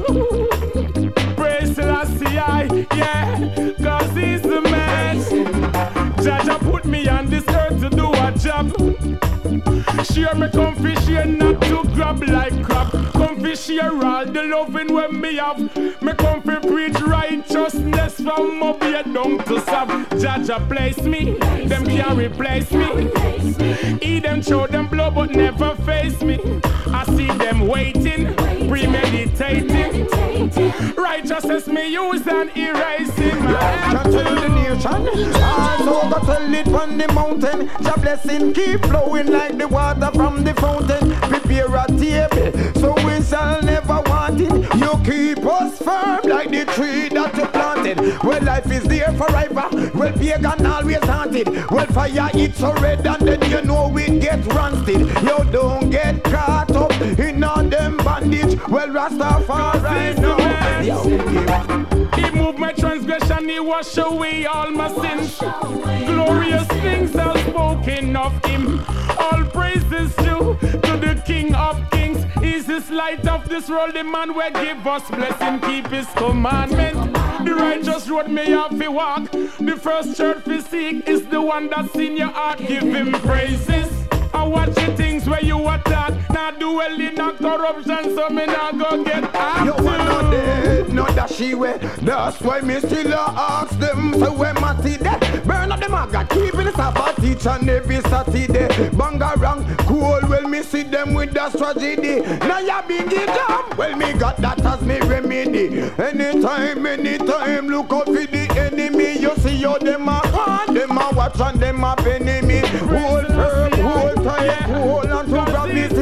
praise Selassie, yeah, cause he's the man. Jaja put me on this earth to do a job. Share me come fish here, not to grab like crap. Come fish here all the loving when me have. Me come fi preach righteousness from up here down to sub. Jaja place me, them can't replace me. Eat them, show them blow but never face me. I see them waiting, premeditating. Righteousness me use and erasing. My hand to the nation, also got tell it from the mountain. Your blessing keep flowing like the water from the fountain. Prepare a table, so we shall never want it. You keep us firm like the tree that you planted. Well, life is there forever. Well, pagan always haunted. Well, fire it's so red and then you know we get rusted. You don't get caught up in all them bandage. Well, Rastafari know. He moved my transgression, he washed away all my sins. Glorious things are spoken of him. All praises due to the King of Kings. He's this light of this world, the man will give us blessing, keep his commandment. The righteous road may have to walk. The first church we seek is the one that's in your heart. Give him praises. I watch the things where you attack. Now do well in a corruption, so me not go get active. You are not dead, not that she way. That's why me still ask them. So when I see that, burn up the maga, keeping the Sabbath each and every Saturday. Bangarang, cool, well me see them with that tragedy. Now ya big it up, well me got that as me remedy. Anytime, anytime, look out for the enemy. You see how them a on, them a watch and them a enemy. Hold firm, hold tight, hold on to gravity.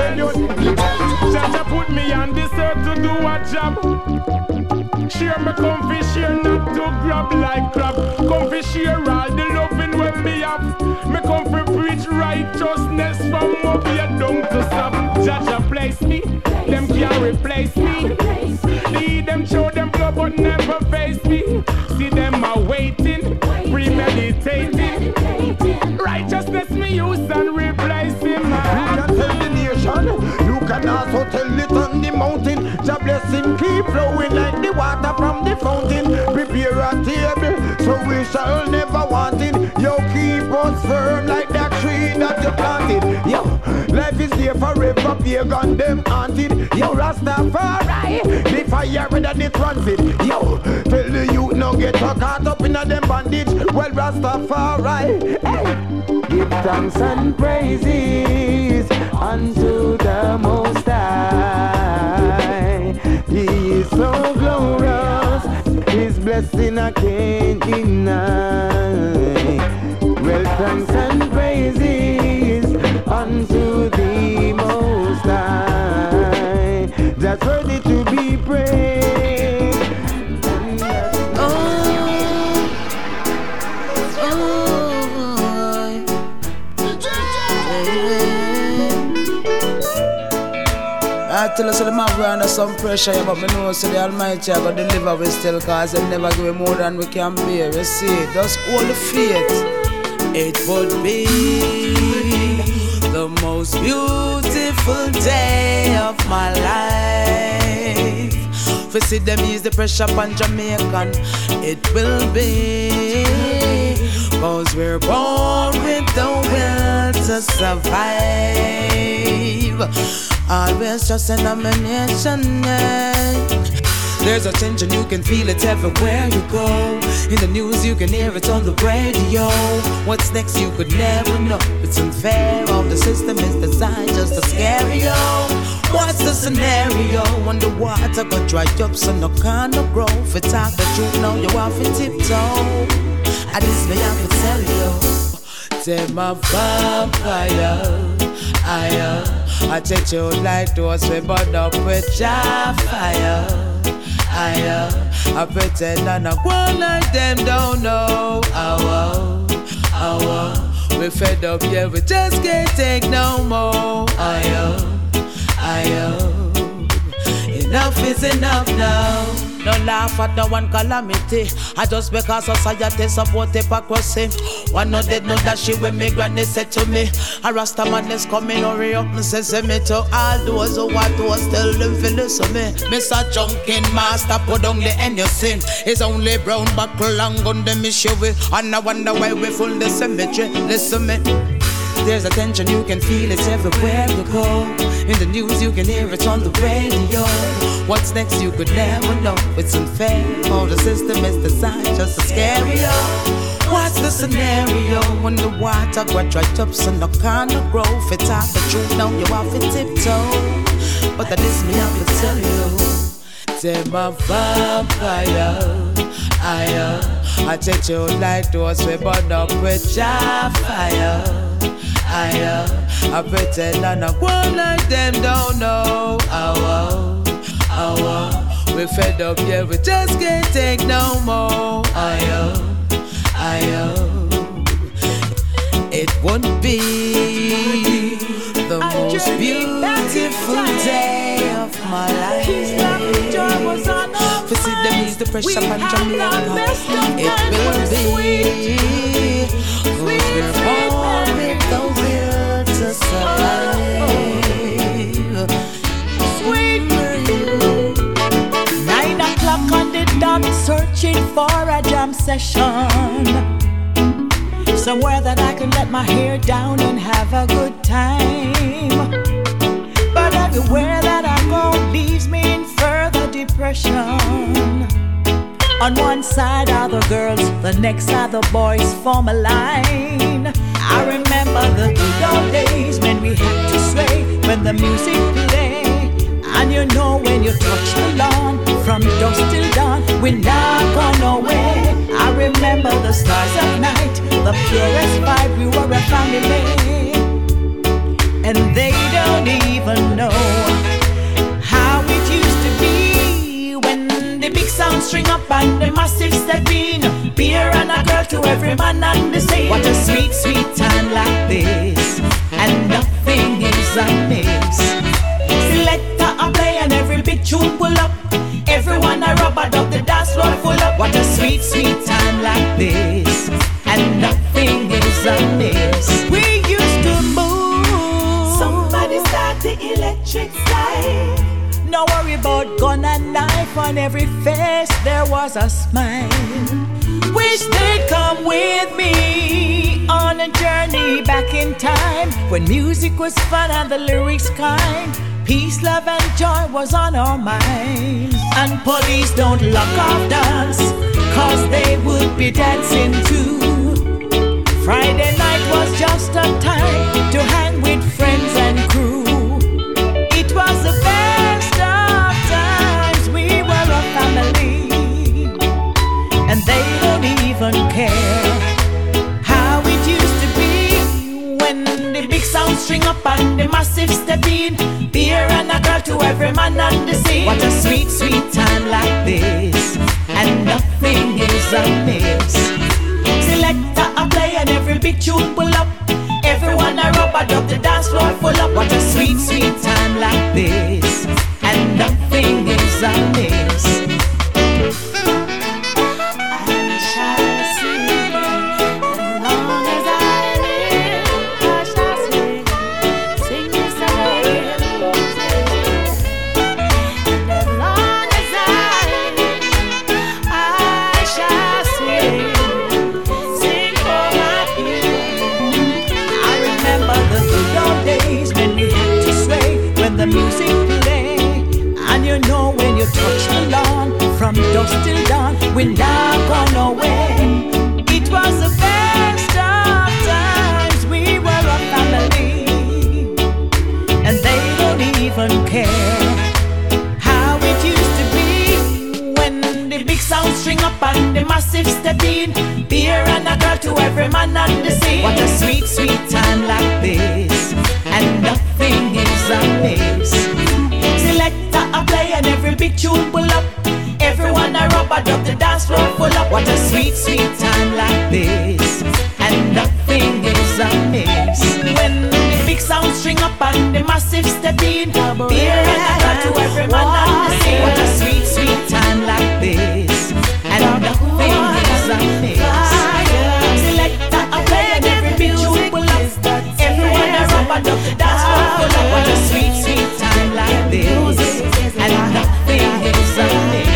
Jaja put me on this earth to do a job. Share me comfy, share not to grab like crap. Comfy, share all the loving when me have. Me comfy preach righteousness from up here down to stop. Jaja place me, them can't replace me. Lead them, show them blood but never face me. See them are waiting, premeditating. Righteousness me use and replace him. You can tell the nation, you can also tell it on the mountain. Your blessing keep flowing like the water from the fountain. Prepare a table, so we shall never want it. You keep us firm like that tree that you planted. Yo, life is there forever, pagan them haunted. Yo, Rastafari, the fire that it runs it. Yo, tell the youth no get caught up in them bandage. Well, Rastafari, hey, give thanks and praises unto the Most High. He is so glorious. I can't deny. Well, thanks and praises unto the Most High, that's worthy to be praised. Oh, oh, I tell us that my brand under some pressure, yeah, but me know so the Almighty I got deliver we still, cause they never give me more than we can bear. You see, just hold the faith. It would be the most beautiful day of my life. For see them ease the pressure on Jamaican, it will be, cause we're born with the will to survive. Always just an nomination, yeah. There's a tension, you can feel it everywhere you go. In the news, you can hear it on the radio. What's next, you could never know. It's unfair, all the system is designed just to scare you. What's the scenario? When the water got dry up, so no kind of growth. It's talk the truth, now you have to tiptoe. At least me have to tell you. Take my vampire, I uh, I take you like those we burn up with your fire. I uh, I pretend and I go like them don't know. Oh, oh, oh, oh. We fed up, yeah, we just can't take no more. I uh, I uh, enough is enough now. No laugh at the one calamity. I just because society support hypocrisy. One no dead, no that shit when me granny said to me. A Rasta man is coming, hurry up and say me to all those who want to tell them feel listen me. Mister Junkin Master put down the end you sin. It's only brown buckle and gun them issue with. And I wonder why we full the cemetery. Listen me. There's a tension, you can feel it everywhere you go. In the news, you can hear it on the radio. What's next, you could never know. It's unfair, all the system is designed just to scare you. What's the scenario when the water got dried up so no kind of growth? It's out the truth, now you have to tiptoe. But that is me, I will tell you. Take my vampire, I uh, I take you like those we burn up with your fire. I uh, I pretend and I go like them don't know. Oh, oh, oh, oh. We fed up, yeah, we just can't take no more. I uh, I uh, it would be the most beautiful day of my life. For see them ease the pressure on Jamaica. It will be, cause we're born with the will to survive. Sweet nine o'clock on the dot, searching for a jam session. Somewhere that I can let my hair down and have a good time. But everywhere that I go leaves me in further depression. On one side are the girls, the next are the boys, form a line. I remember the good old days when we had to sway, when the music played. And you know when you touch the lawn, from dusk till dawn, we're not gone away. I remember the stars at night, the purest vibe, we were a family. And they don't even know how it used to be when the big sound string up and the massive step in. Beer and a girl to every man and the same. What a sweet, sweet time like this, and nothing is amiss. Selector a play and every big tune pull up. Everyone a rubber dub, the dance floor full up. What a sweet, sweet time like this, and nothing is amiss. We used to move. Somebody start the electric slide. No worry about gun and knife, on every face there was a smile. Wish they'd come with me on a journey back in time, when music was fun and the lyrics kind. Peace, love and joy was on our minds. And police don't lock off dance, cause they would be dancing too. Friday night was just a time to hang with friends and crew. It was the best of times, we were a family. And they to every man on the scene. What a sweet, sweet time like this, and nothing is amiss. Selector a play and every big tune pull up. Everyone a rubber dub, the dance floor full up. What a sweet, sweet time like this, and nothing is amiss. From dusk till dawn, we're not gone away. It was the best of times. We were a family, and they don't even care how it used to be when the big sound string up and the massive step in. Beer and a girl to every man on the scene. What a sweet, sweet time like this, and nothing is amiss. Selector a play and every big tune pull up. Everyone a rubber dub, the dance floor full up. What a sweet, sweet time like this, and nothing is amiss. When the big sound string up and the massive step in. Beer and a girl to every man on the scene. What a sweet, sweet time like this, and nothing is amiss. Selector a play and every big tune pull up. Everyone a rubber dub, the dance floor full up. What a sweet, sweet time like this, and nothing is amiss.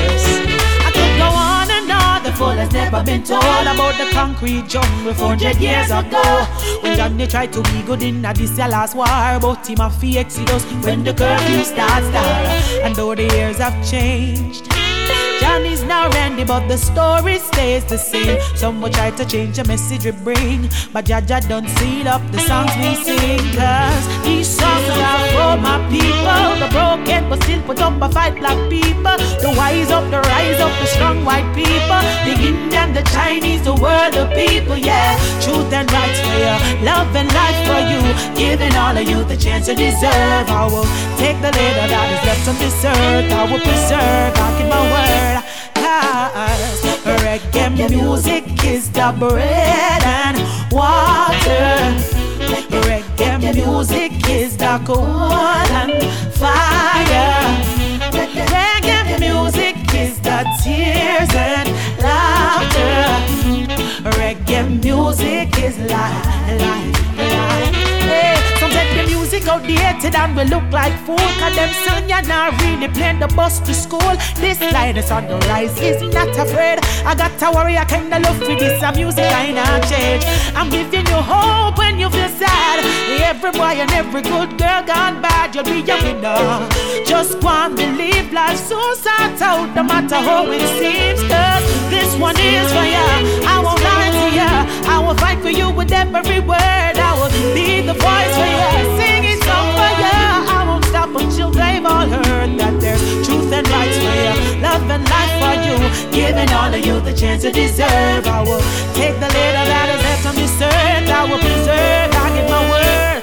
Has never been told about the concrete jungle four hundred years ago. When Johnny tried to be good in this your last war, but him a fee exodus when the curfew starts down. And though the years have changed, Johnny's now Randy, but the story stays the same. Some will try to change the message we bring, but Jaja don't seal up the songs we sing. Cause these songs are for my people, the broken but still put up a fight black people, the wise up, the rise up, the strong white people, the Indian, the Chinese, the world of people, yeah. Truth and rights for you, love and life for you, giving all of you the chance you deserve. I will take the little that is left on this earth, I will preserve, I'll keep my word. Cause reggae music is the bread and water. Reggae music is the coal and fire. Reggae music is the tears and laughter. Reggae music is life, life, life. Hey, some said the music outdated and we look like fool. Cause them son you're not really playing the bus to school. This line is on the rise, is not afraid. I got to worry, I kinda love for this a music I not change. I'm giving you hope when you feel sad. Every boy and every good girl gone bad, you'll be a winner. Just go and believe life soon starts out, no matter how it seems. Cause this one is for ya, I won't lie to ya. I will fight for you with every word. I will be the voice for ya, sing it song for ya. I won't stop until they've all heard that there's truth and rights for ya, love and life for you, giving all of you the chance you deserve. I will take the little that is left on this earth, I will preserve, I give my word.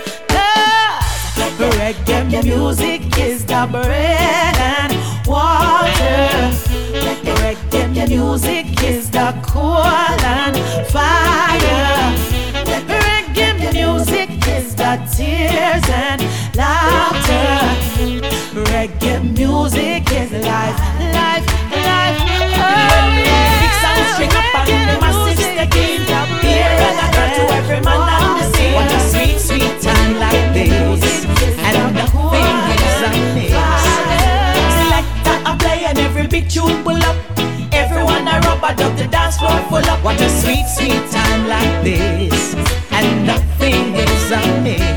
Cause reggae music is the bread and water. Reggae music is the coal and fire. Reggae music is the tears and laughter. Reggae music is life, life, life. Oh yeah. Big sound string up and the massive sticking. Beer and a girl to every man on the scene. What a sweet, sweet time like this, and nothing is amiss. Selector a play and every big tune pull up. Everyone a rubber dub, the dance floor full up. What a sweet, sweet time like this, and nothing is amiss.